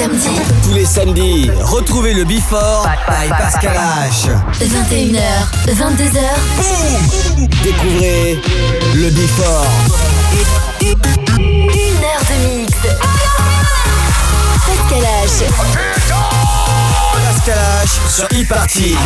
samedis. Tous les samedis, retrouvez le Before by Pascal H. 21h, 22h. Boum! Découvrez le Before. 1 heure de mix. Pascal H. Pascal H sur e-party.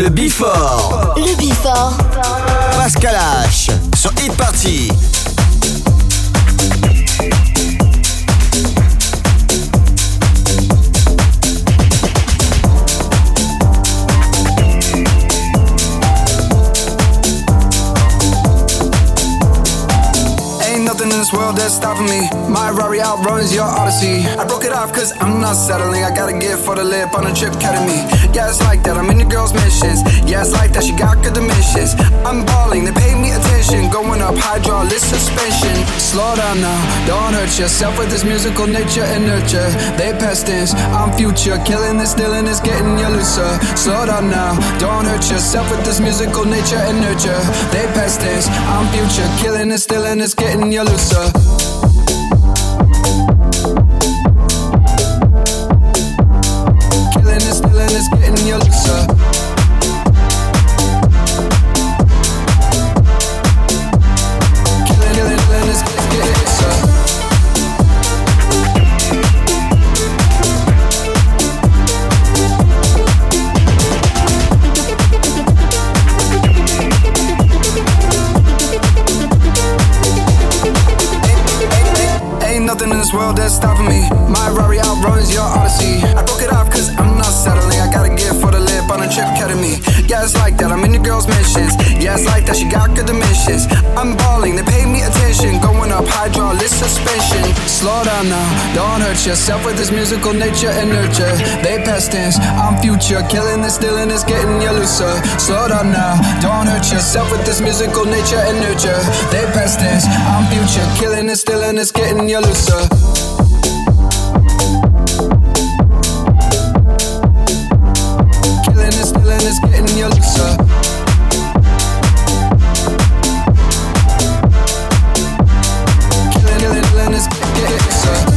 Le Before. Le Before. Pascal H sur Hit Party. Nothing in this world that's stopping me. My Rari outruns your Odyssey. I broke it off cause I'm not settling. I gotta get for the lip on a trip cutting me. Yeah, it's like that, I'm in the girl's missions. Yeah, it's like that, she got good dimensions. I'm balling, they pay me attention. Going up hydraulic suspension. Slow down now, don't hurt yourself with this musical nature and nurture. They past tense, I'm future. Killing this, stealing this, getting you looser. Slow down now, don't hurt yourself with this musical nature and nurture. They past tense, I'm future. Killing this, stealing this, getting you looser. Killing this, stealing this, getting you looser. Killing this, getting you looser. Nothing in this world that's stopping me. My Rari outruns your Odyssey. I broke it off cause I'm not settling. I gotta get for the lip on a trip cutting me. Yeah, it's like that, I'm in the girl's missions. Yeah, it's like that, she got good dimensions. I'm balling, they pay me attention. Going up hydraulic suspension. Slow down now, don't hurt yourself with this musical nature and nurture. They past tense, I'm future. Killing this, stealing this, getting you looser. Slow down now, don't hurt yourself with this musical nature and nurture. They past tense, I'm future. Killing this, stealing this, getting you looser. Killing this, stealing this, getting you looser. Killing this, getting you looser.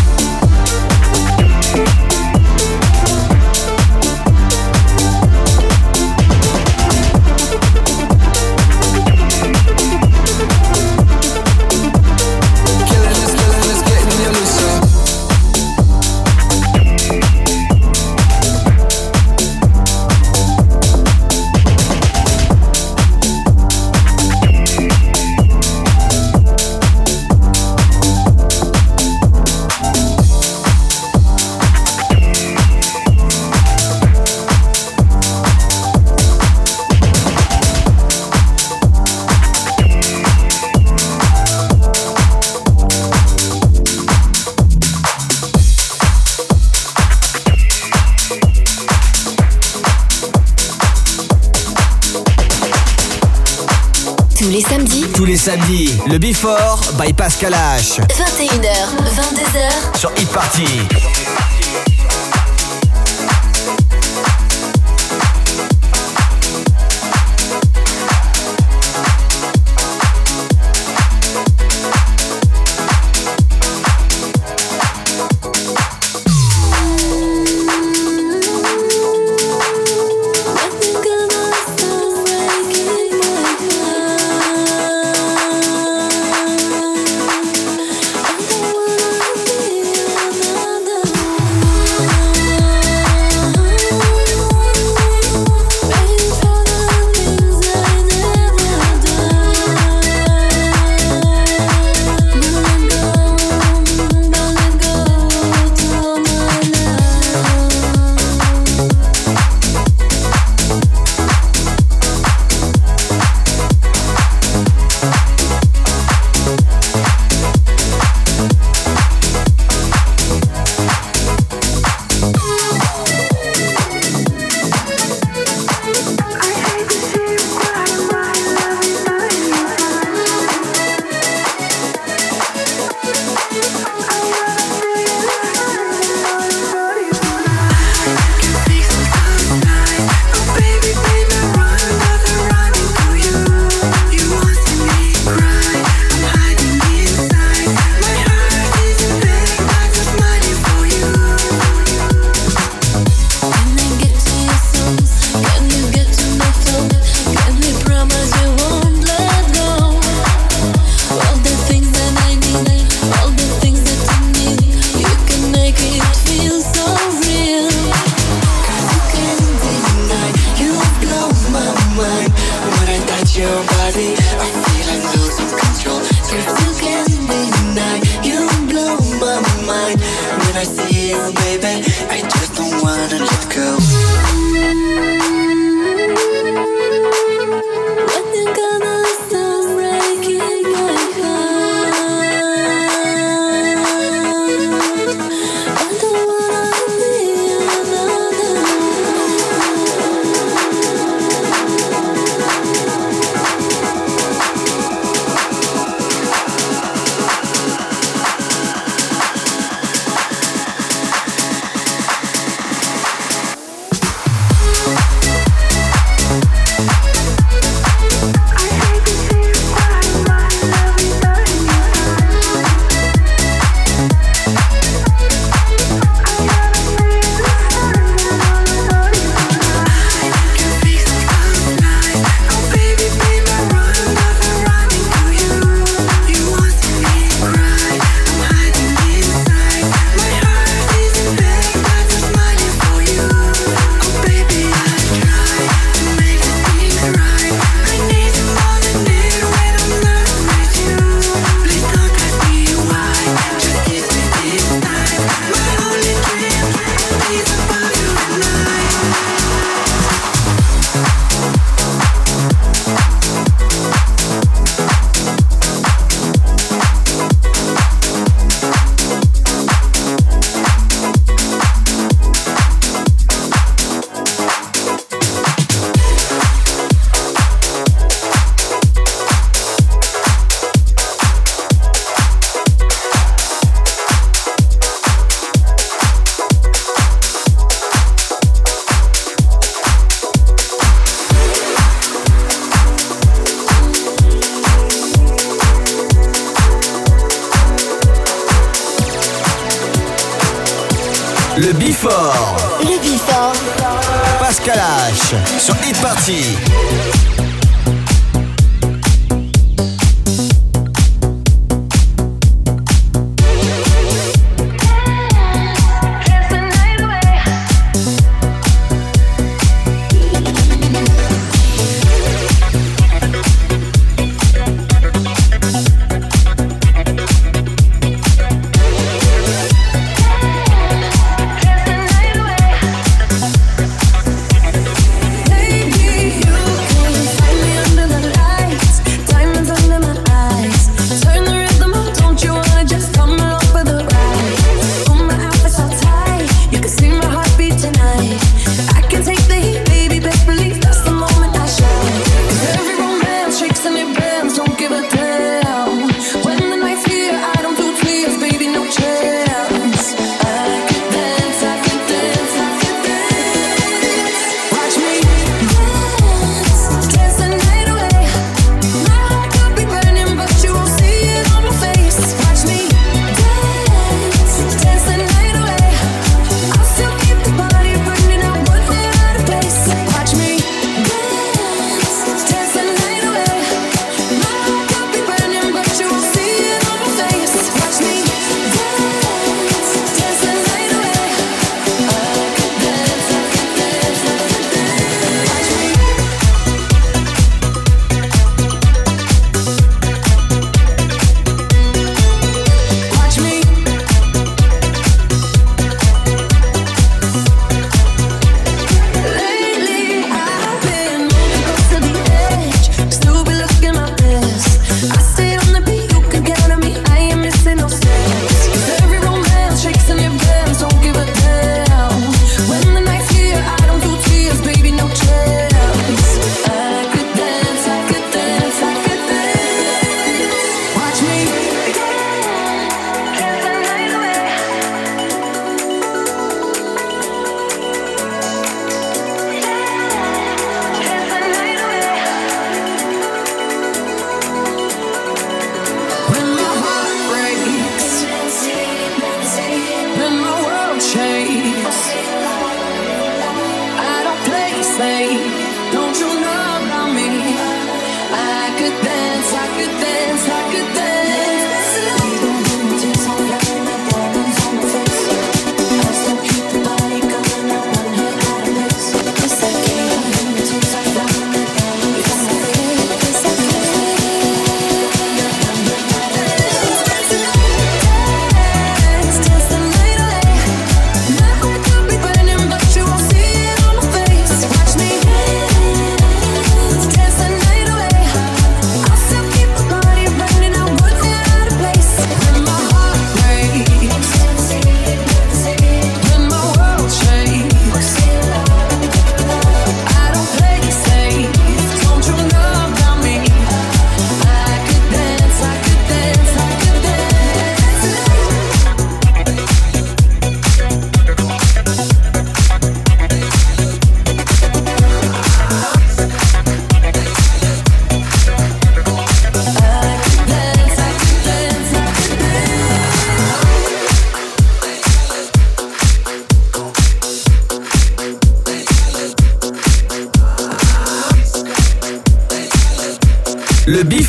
Tous les samedis, le Before by Pascal H. 21h, 22h sur Hit Party. I see you, baby, I just don't wanna let go. When you gonna stop breaking my heart? I don't wanna be another. Le Before. Le Before. Pascal H sur Hit Party. Baby, you can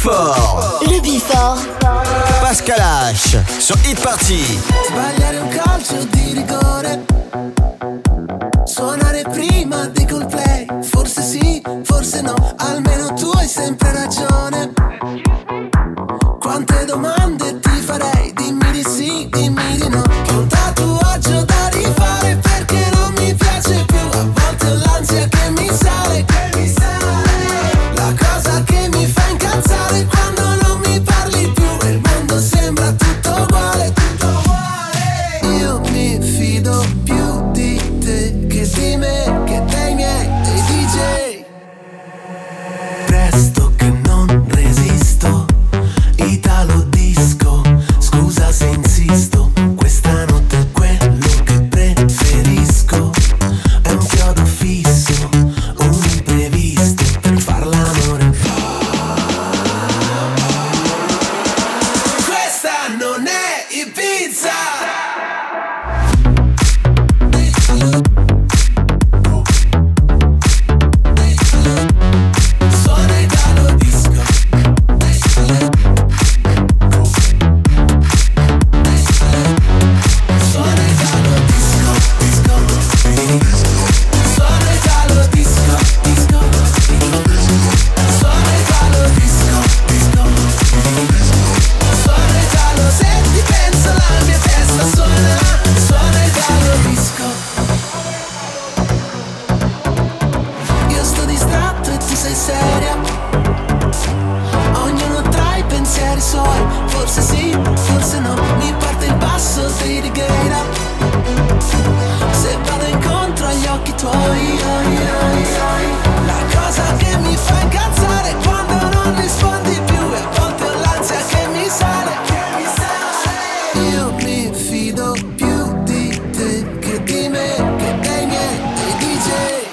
Before. Le Before. Pascal H sur Hit Party. Sbagliare un calcio di rigore, suonare prima di Coldplay. Forse sì, forse no, almeno tu hai sempre ragione. Quante domande ti farei, dimmi di sì, dimmi di no. Che un tatuaggio da rifare perché non mi piace più. A volte ho l'ansia che mi sale, la cosa che mi fa incazzare quando non mi parli più e il mondo sembra tutto uguale, tutto uguale. Io mi fido più di te che di me, che dei miei, dei DJ. Presto che non resisto, Italo disco, scusa se insisto, questa notte è quello che preferisco. È un chiodo fisso, un imprevisto per far l'amore. Questa non è Ibiza. Suona Italo disco. Suona Italo disco, disco. Suona Italo disco, disco. Suona Italo disco, disco. Suona Italo, se ti penso la mia testa suona. Suona Italo disco. Io sto distratto e tu sei seria. Ognuno tra i pensieri suoi. Forse sì, forse no. Mi parte il basso dei Righeira. Se vado incontro agli occhi tuoi. La cosa che mi fa incazzare è quando non rispondi più e a volte ho l'ansia che mi sale. Io mi fido più di te che di me, che dei miei, dei DJ.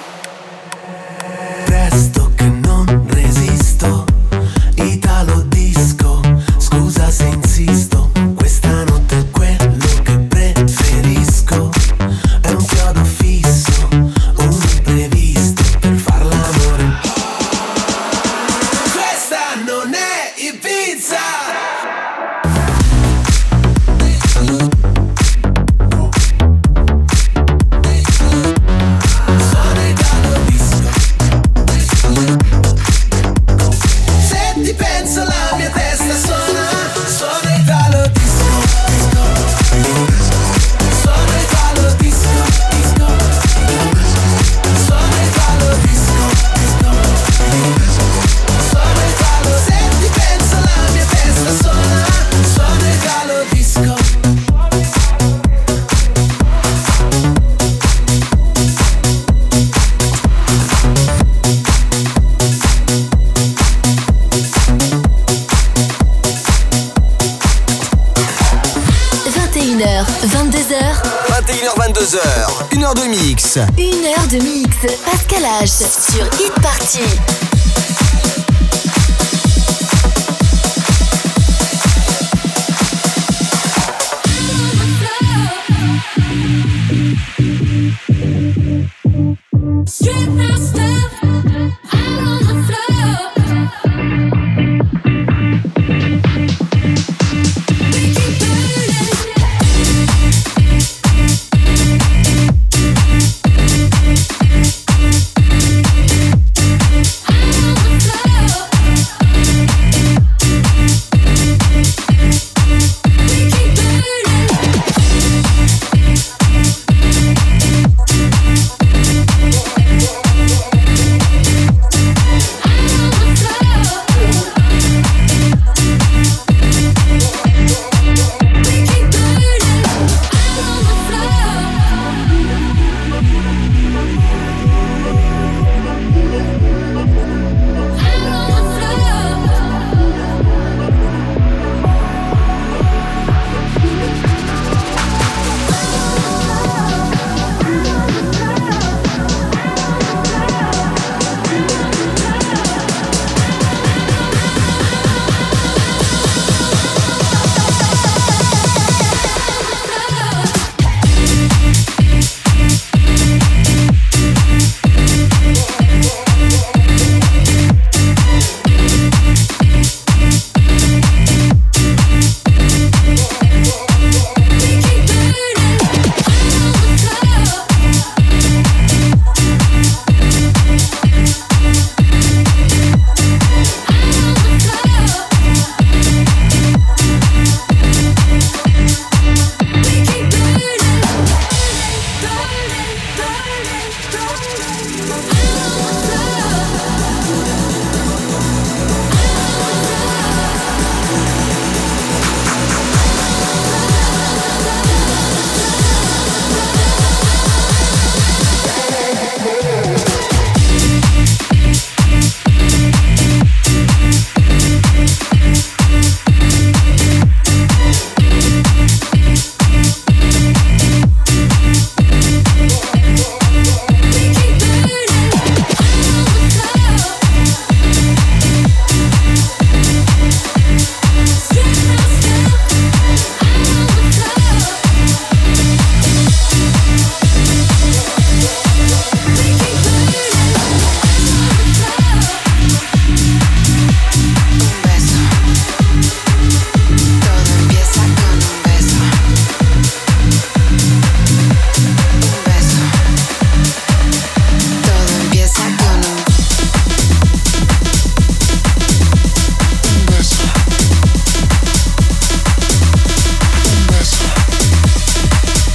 Presto che non resisto, Italo disco, scusa se insisto, questa notte è quello che preferisco. È un chiodo fisso, un imprevisto per far l'amore. Questa non è Ibiza. Suona Italo disco. Se ti penso la mia testa suona. Suona Italo disco, disco. Suona Italo disco, disco. Suona Italo disco, disco. Suona Italo, se ti penso la mia testa suona. Suona Italo disco. h 22h, 21h, 22h, 1h de mix. 1h de mix. Pascal H sur Hit Party. Strip master, out on the floor. We keep burning. Out on the floor.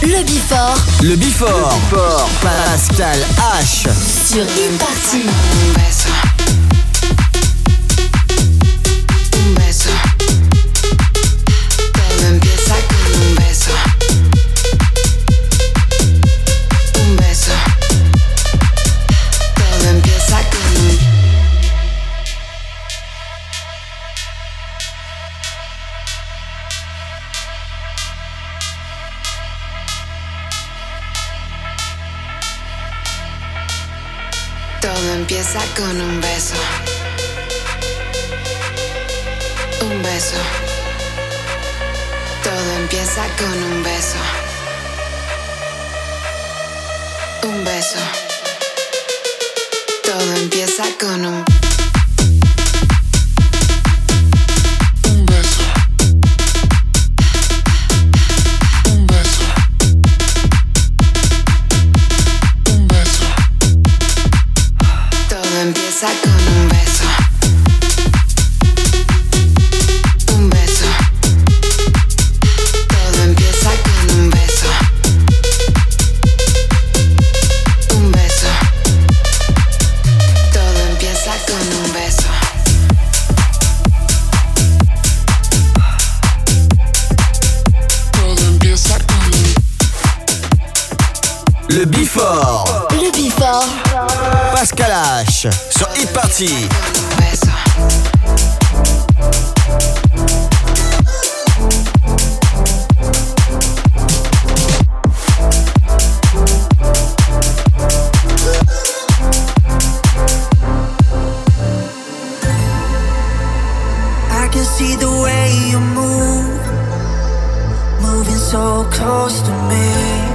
Le Before Le Before. Pascal H. sur Hit Party. Un beso. Un beso. Todo empieza con un beso. Un beso. Todo empieza con un Todo empieza con un beso. Un beso. Todo empieza con un beso. Un beso. Todo empieza con un beso. Un beso. Un beso. Todo empieza con un beso. Un beso. Todo empieza con un beso. Un beso. Todo empieza con un beso. Todo empieza con un Le Before. Le Before Pascal H. Sur Hit Party. un beso. I can see the way you move, moving so close to me.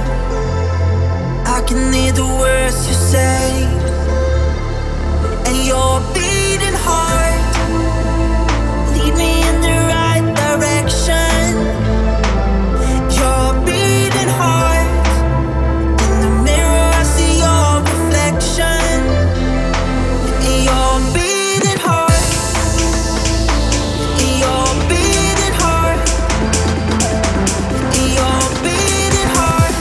I can hear the words you say, and your beating heart lead me in the right direction. Your beating heart, in the mirror I see your reflection. Your beating heart, your beating heart, your beating heart.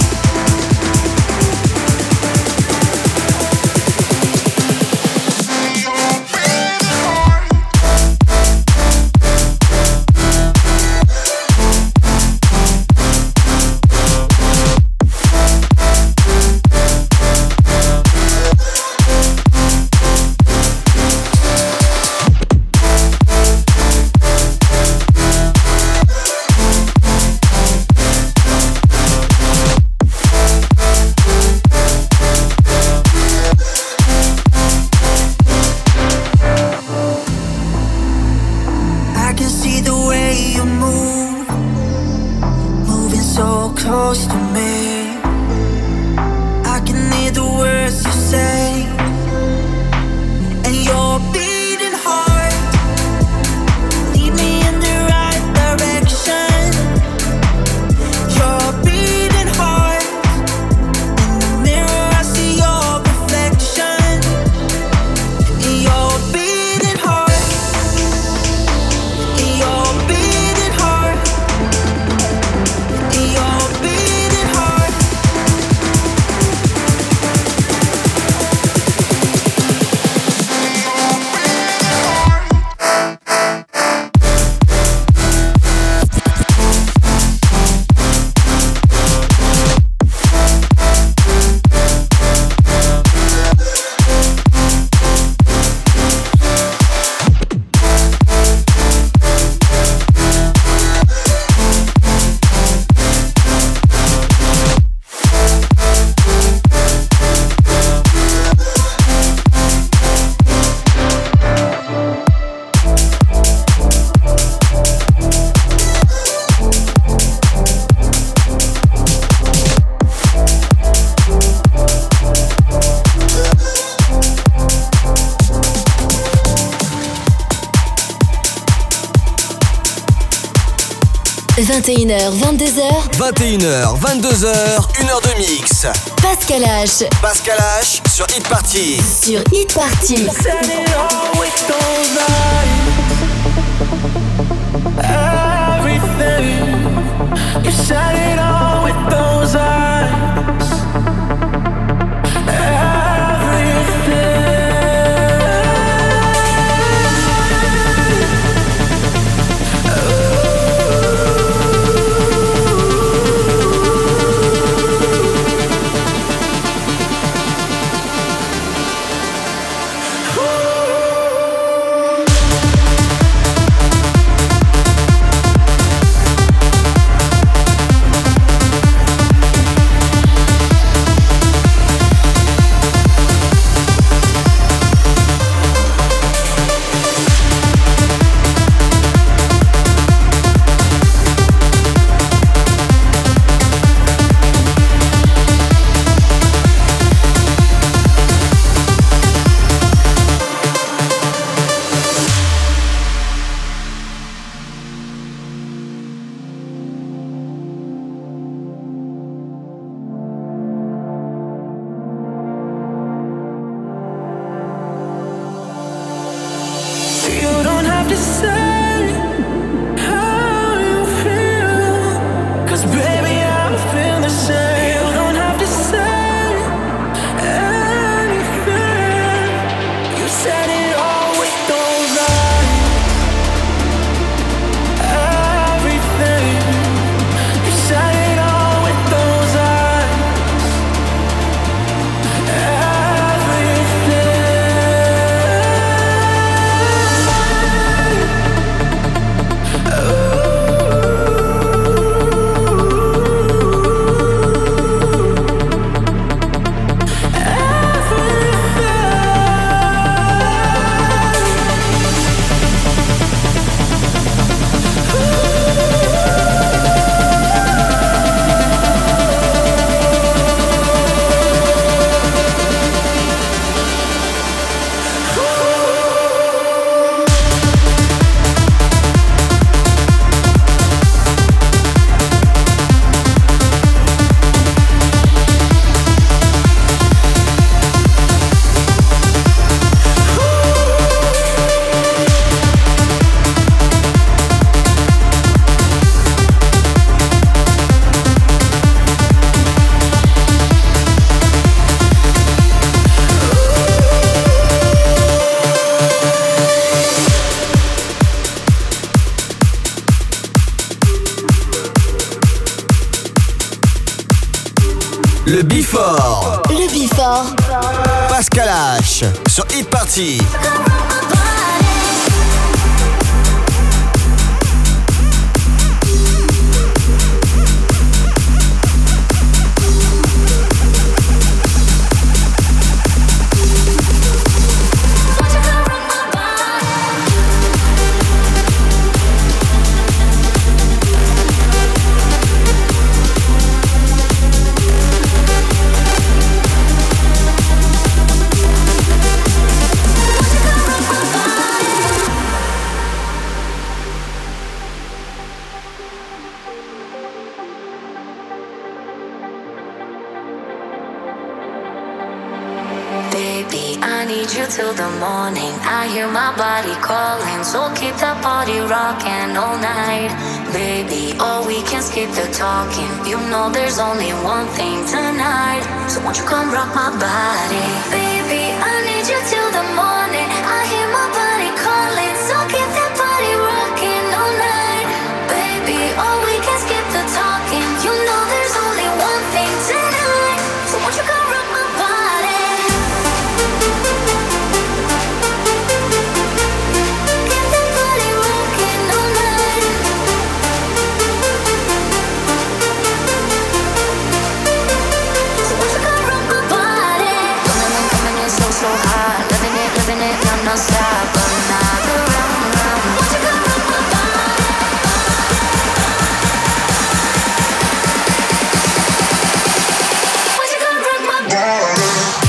I can see the way you move, moving so close to me. I can hear the words you say, and your beating heart lead me in the right direction. Your beating heart, in the mirror I see your reflection. Your beating heart, your beating heart, your beating heart. – 21h, 22h, 21h, 22h, 1h de mix. Pascal H Pascal H sur Hit Party. sur Hit Party. Said it all with those eyes. Everything. You said it all with those eyes. Le Before. Le Before. Pascal H sur Hit Party. Till the morning, I hear my body calling. So keep that body rocking all night. Baby, oh, we can skip the talking. You know there's only one thing tonight. So won't you come rock my body? Baby, I need you till the morning. I hear my body calling. So keep that body rocking all night. Baby, oh, we can skip the talking. You know there's only one thing tonight. So won't you come rock my body? So hot, living it, non-stop. Another round. Won't you come rock my body? Won't you come rock my body?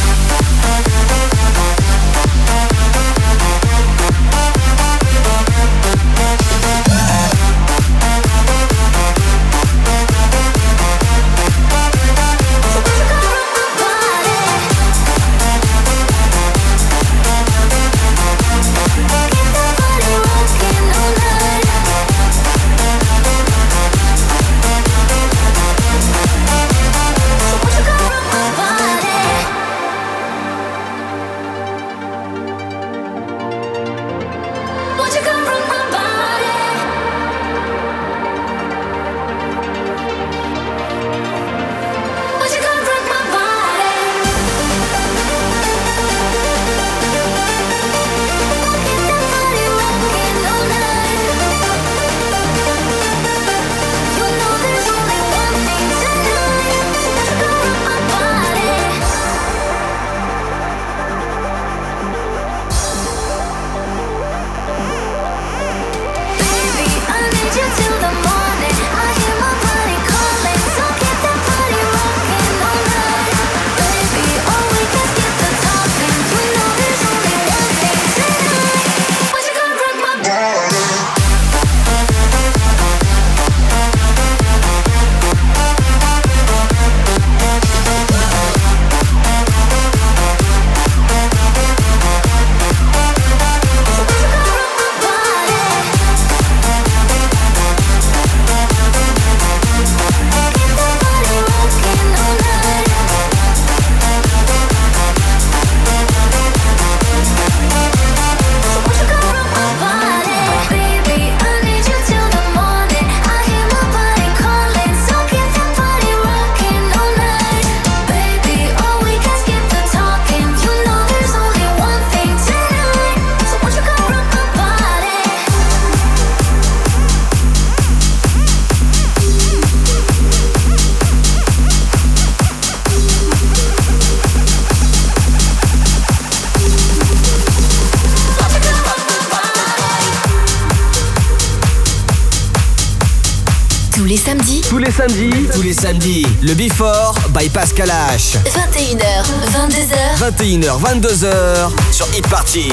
Tous les samedis, le Before by Pascal H. 21h, 22h. 21h, 22h sur Hit Party.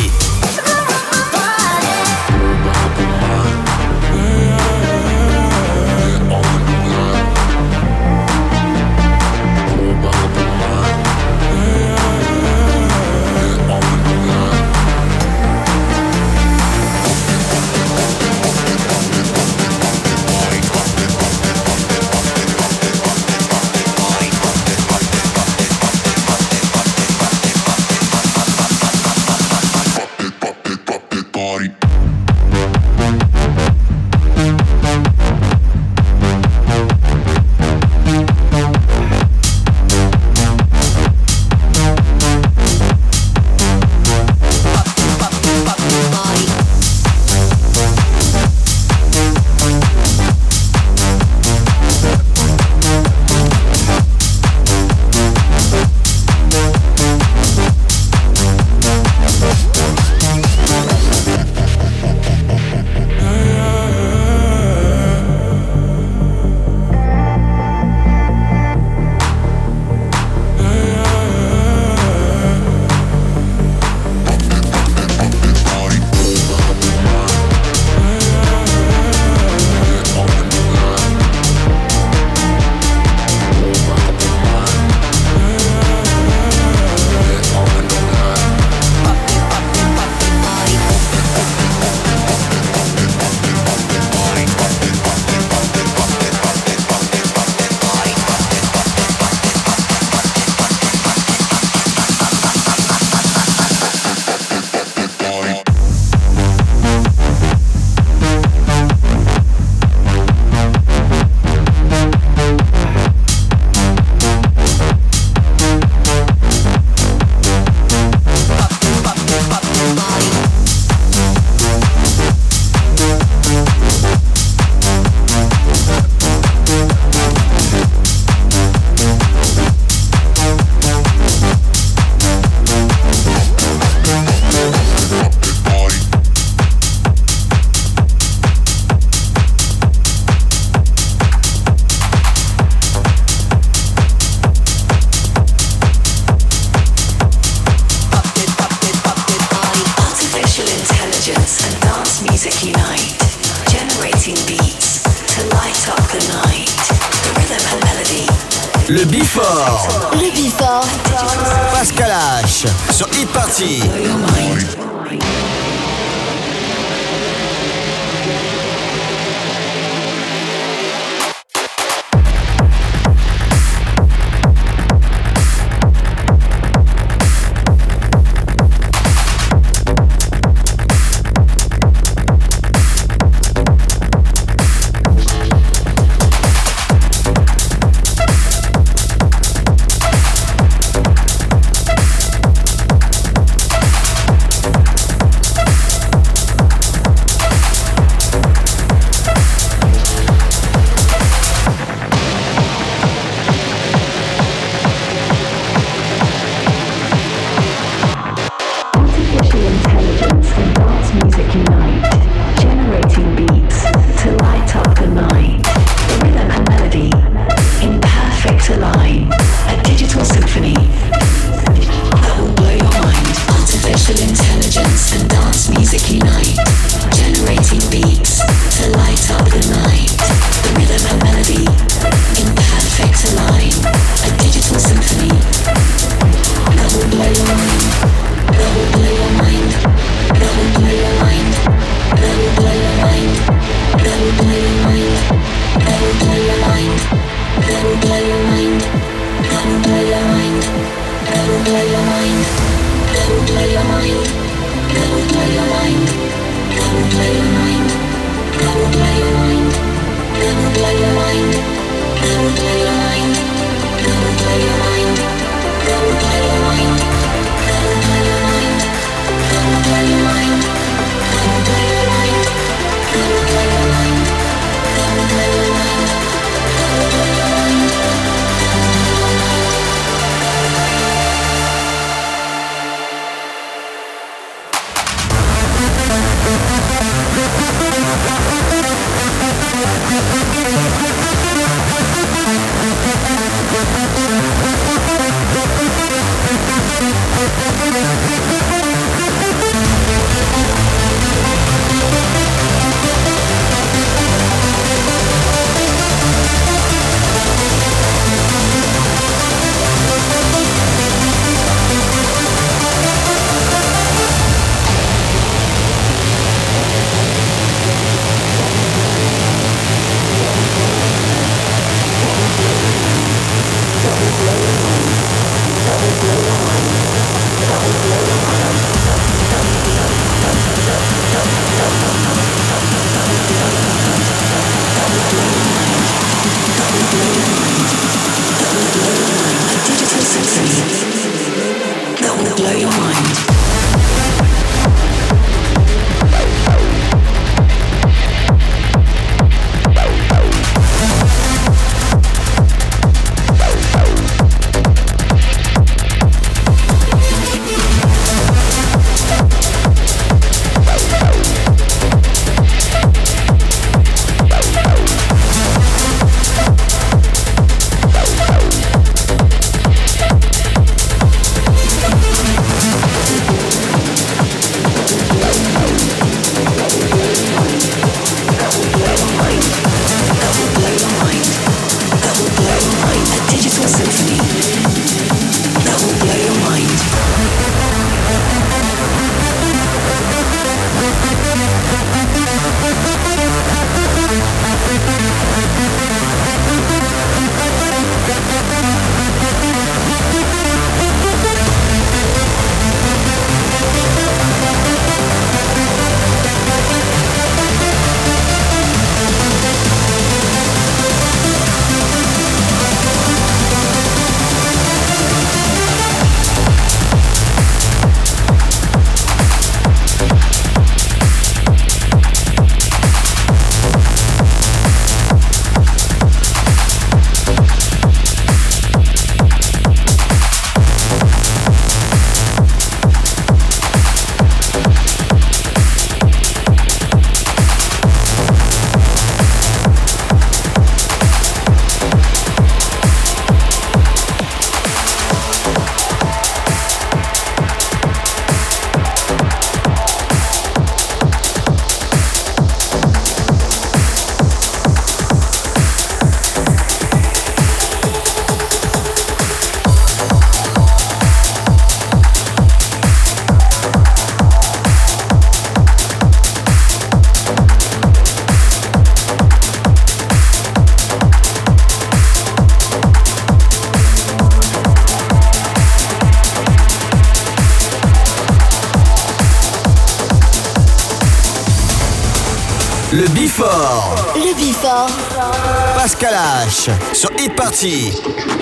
Pop it. Before. Le Before. Pascal H sur Hit Party. Le Before. Le Before. Pascal H. Sur Hit Party.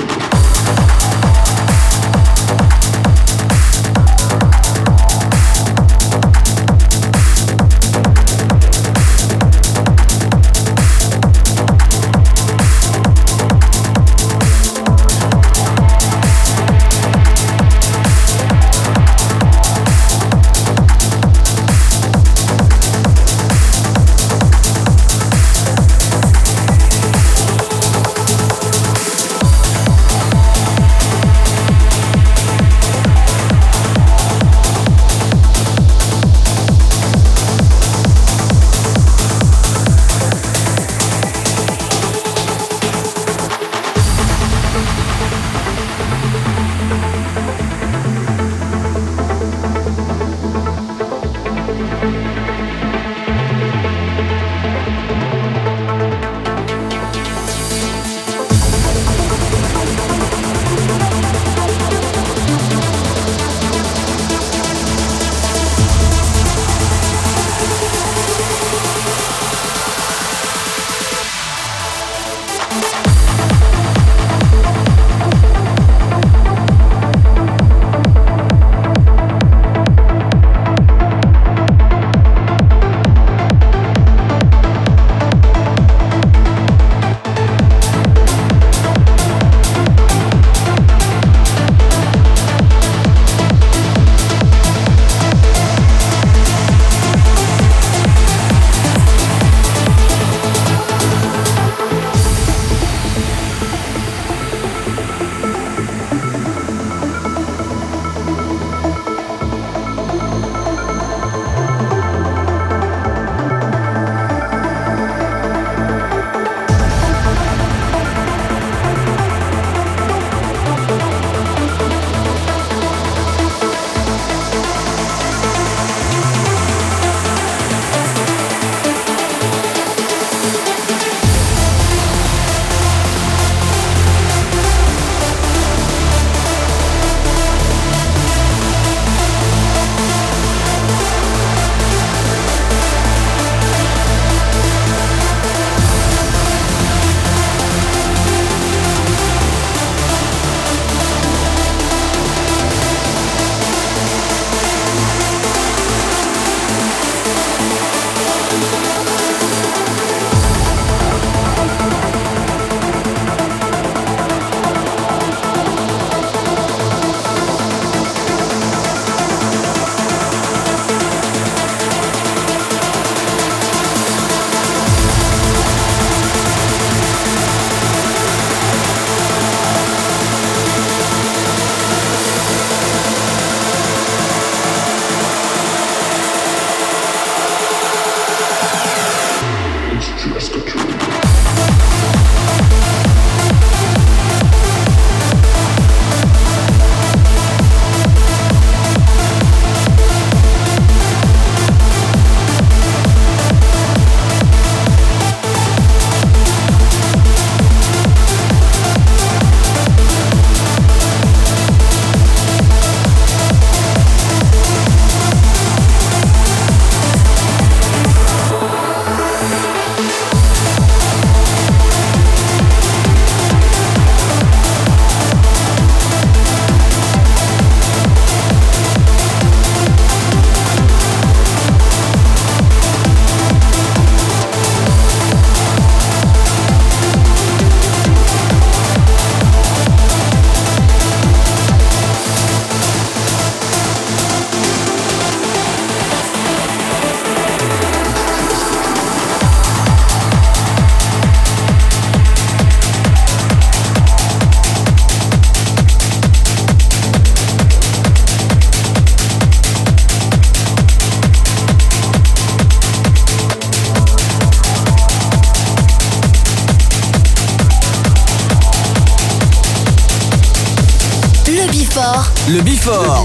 Le Before.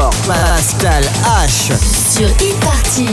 Pascal H. Sur Hit Party.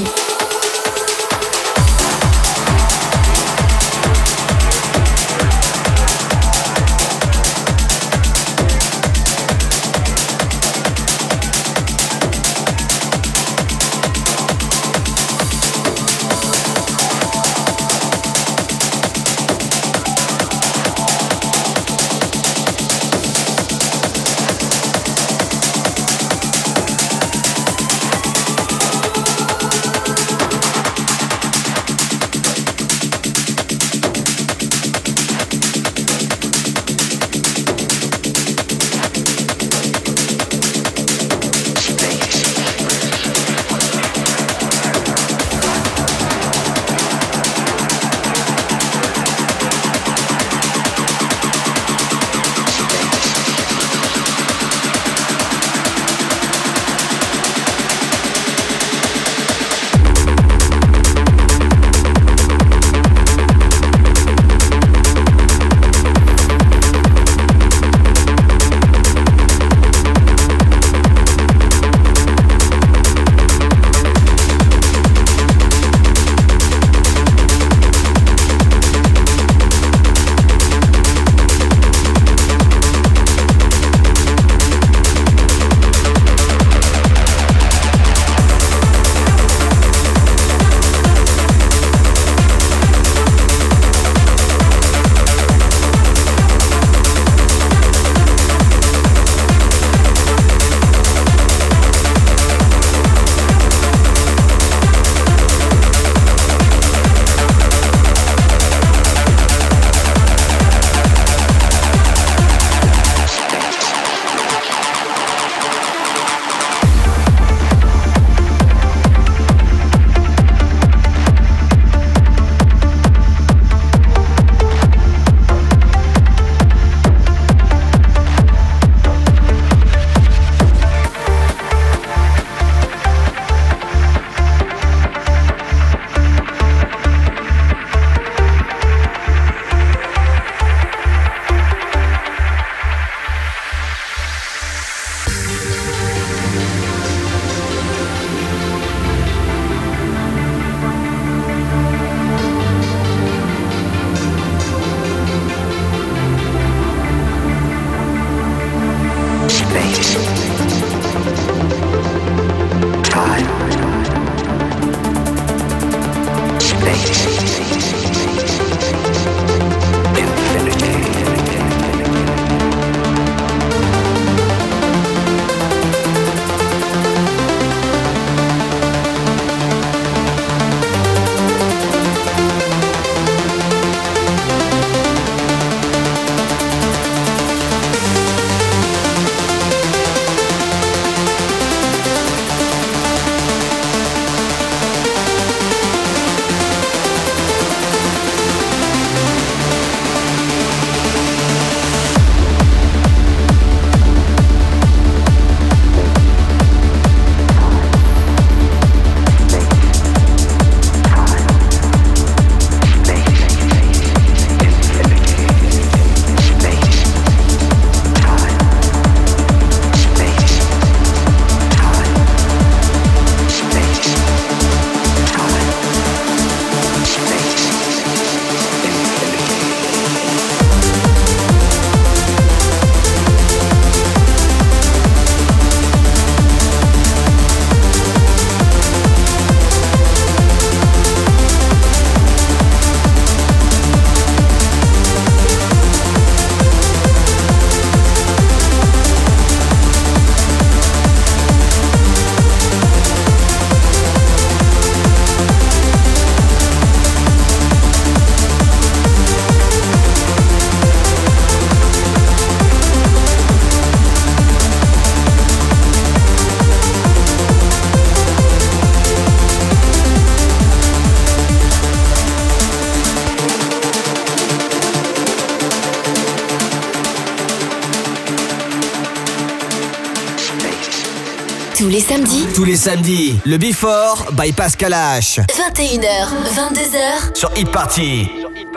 Tous les samedis. Tous les samedis, le Before by Pascal H. 21h, 22h. Sur Hit Party.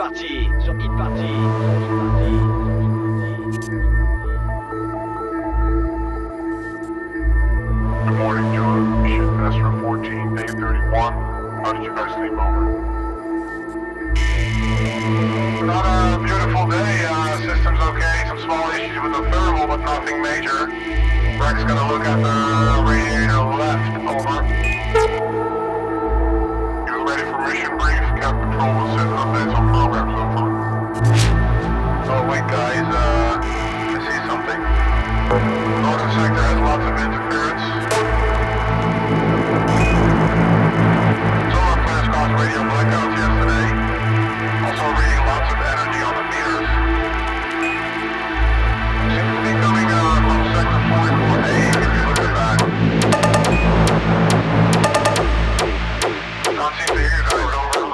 Good morning, John. Shipmaster 14, day 31. How did you guys sleep over? Not a beautiful day. System's okay. Some small issues with the thermal, but nothing major. Rex gonna look at the radiator left. Over. You ready for mission brief? Cap Control will send updates on programs. Over. Oh wait, guys. I see something. Northern sector has lots of interference. Solar plants caused radio blackouts yesterday. Also reading lots of energy on the meters. Seems to be coming from sector 44A if you look at that. Can't seem to hear you guys, over.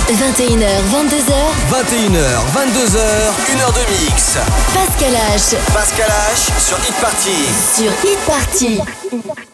21h, 22h, 21h, 22h, 1h de mix. Pascal H Pascal H sur Hit Party. sur Hit Party.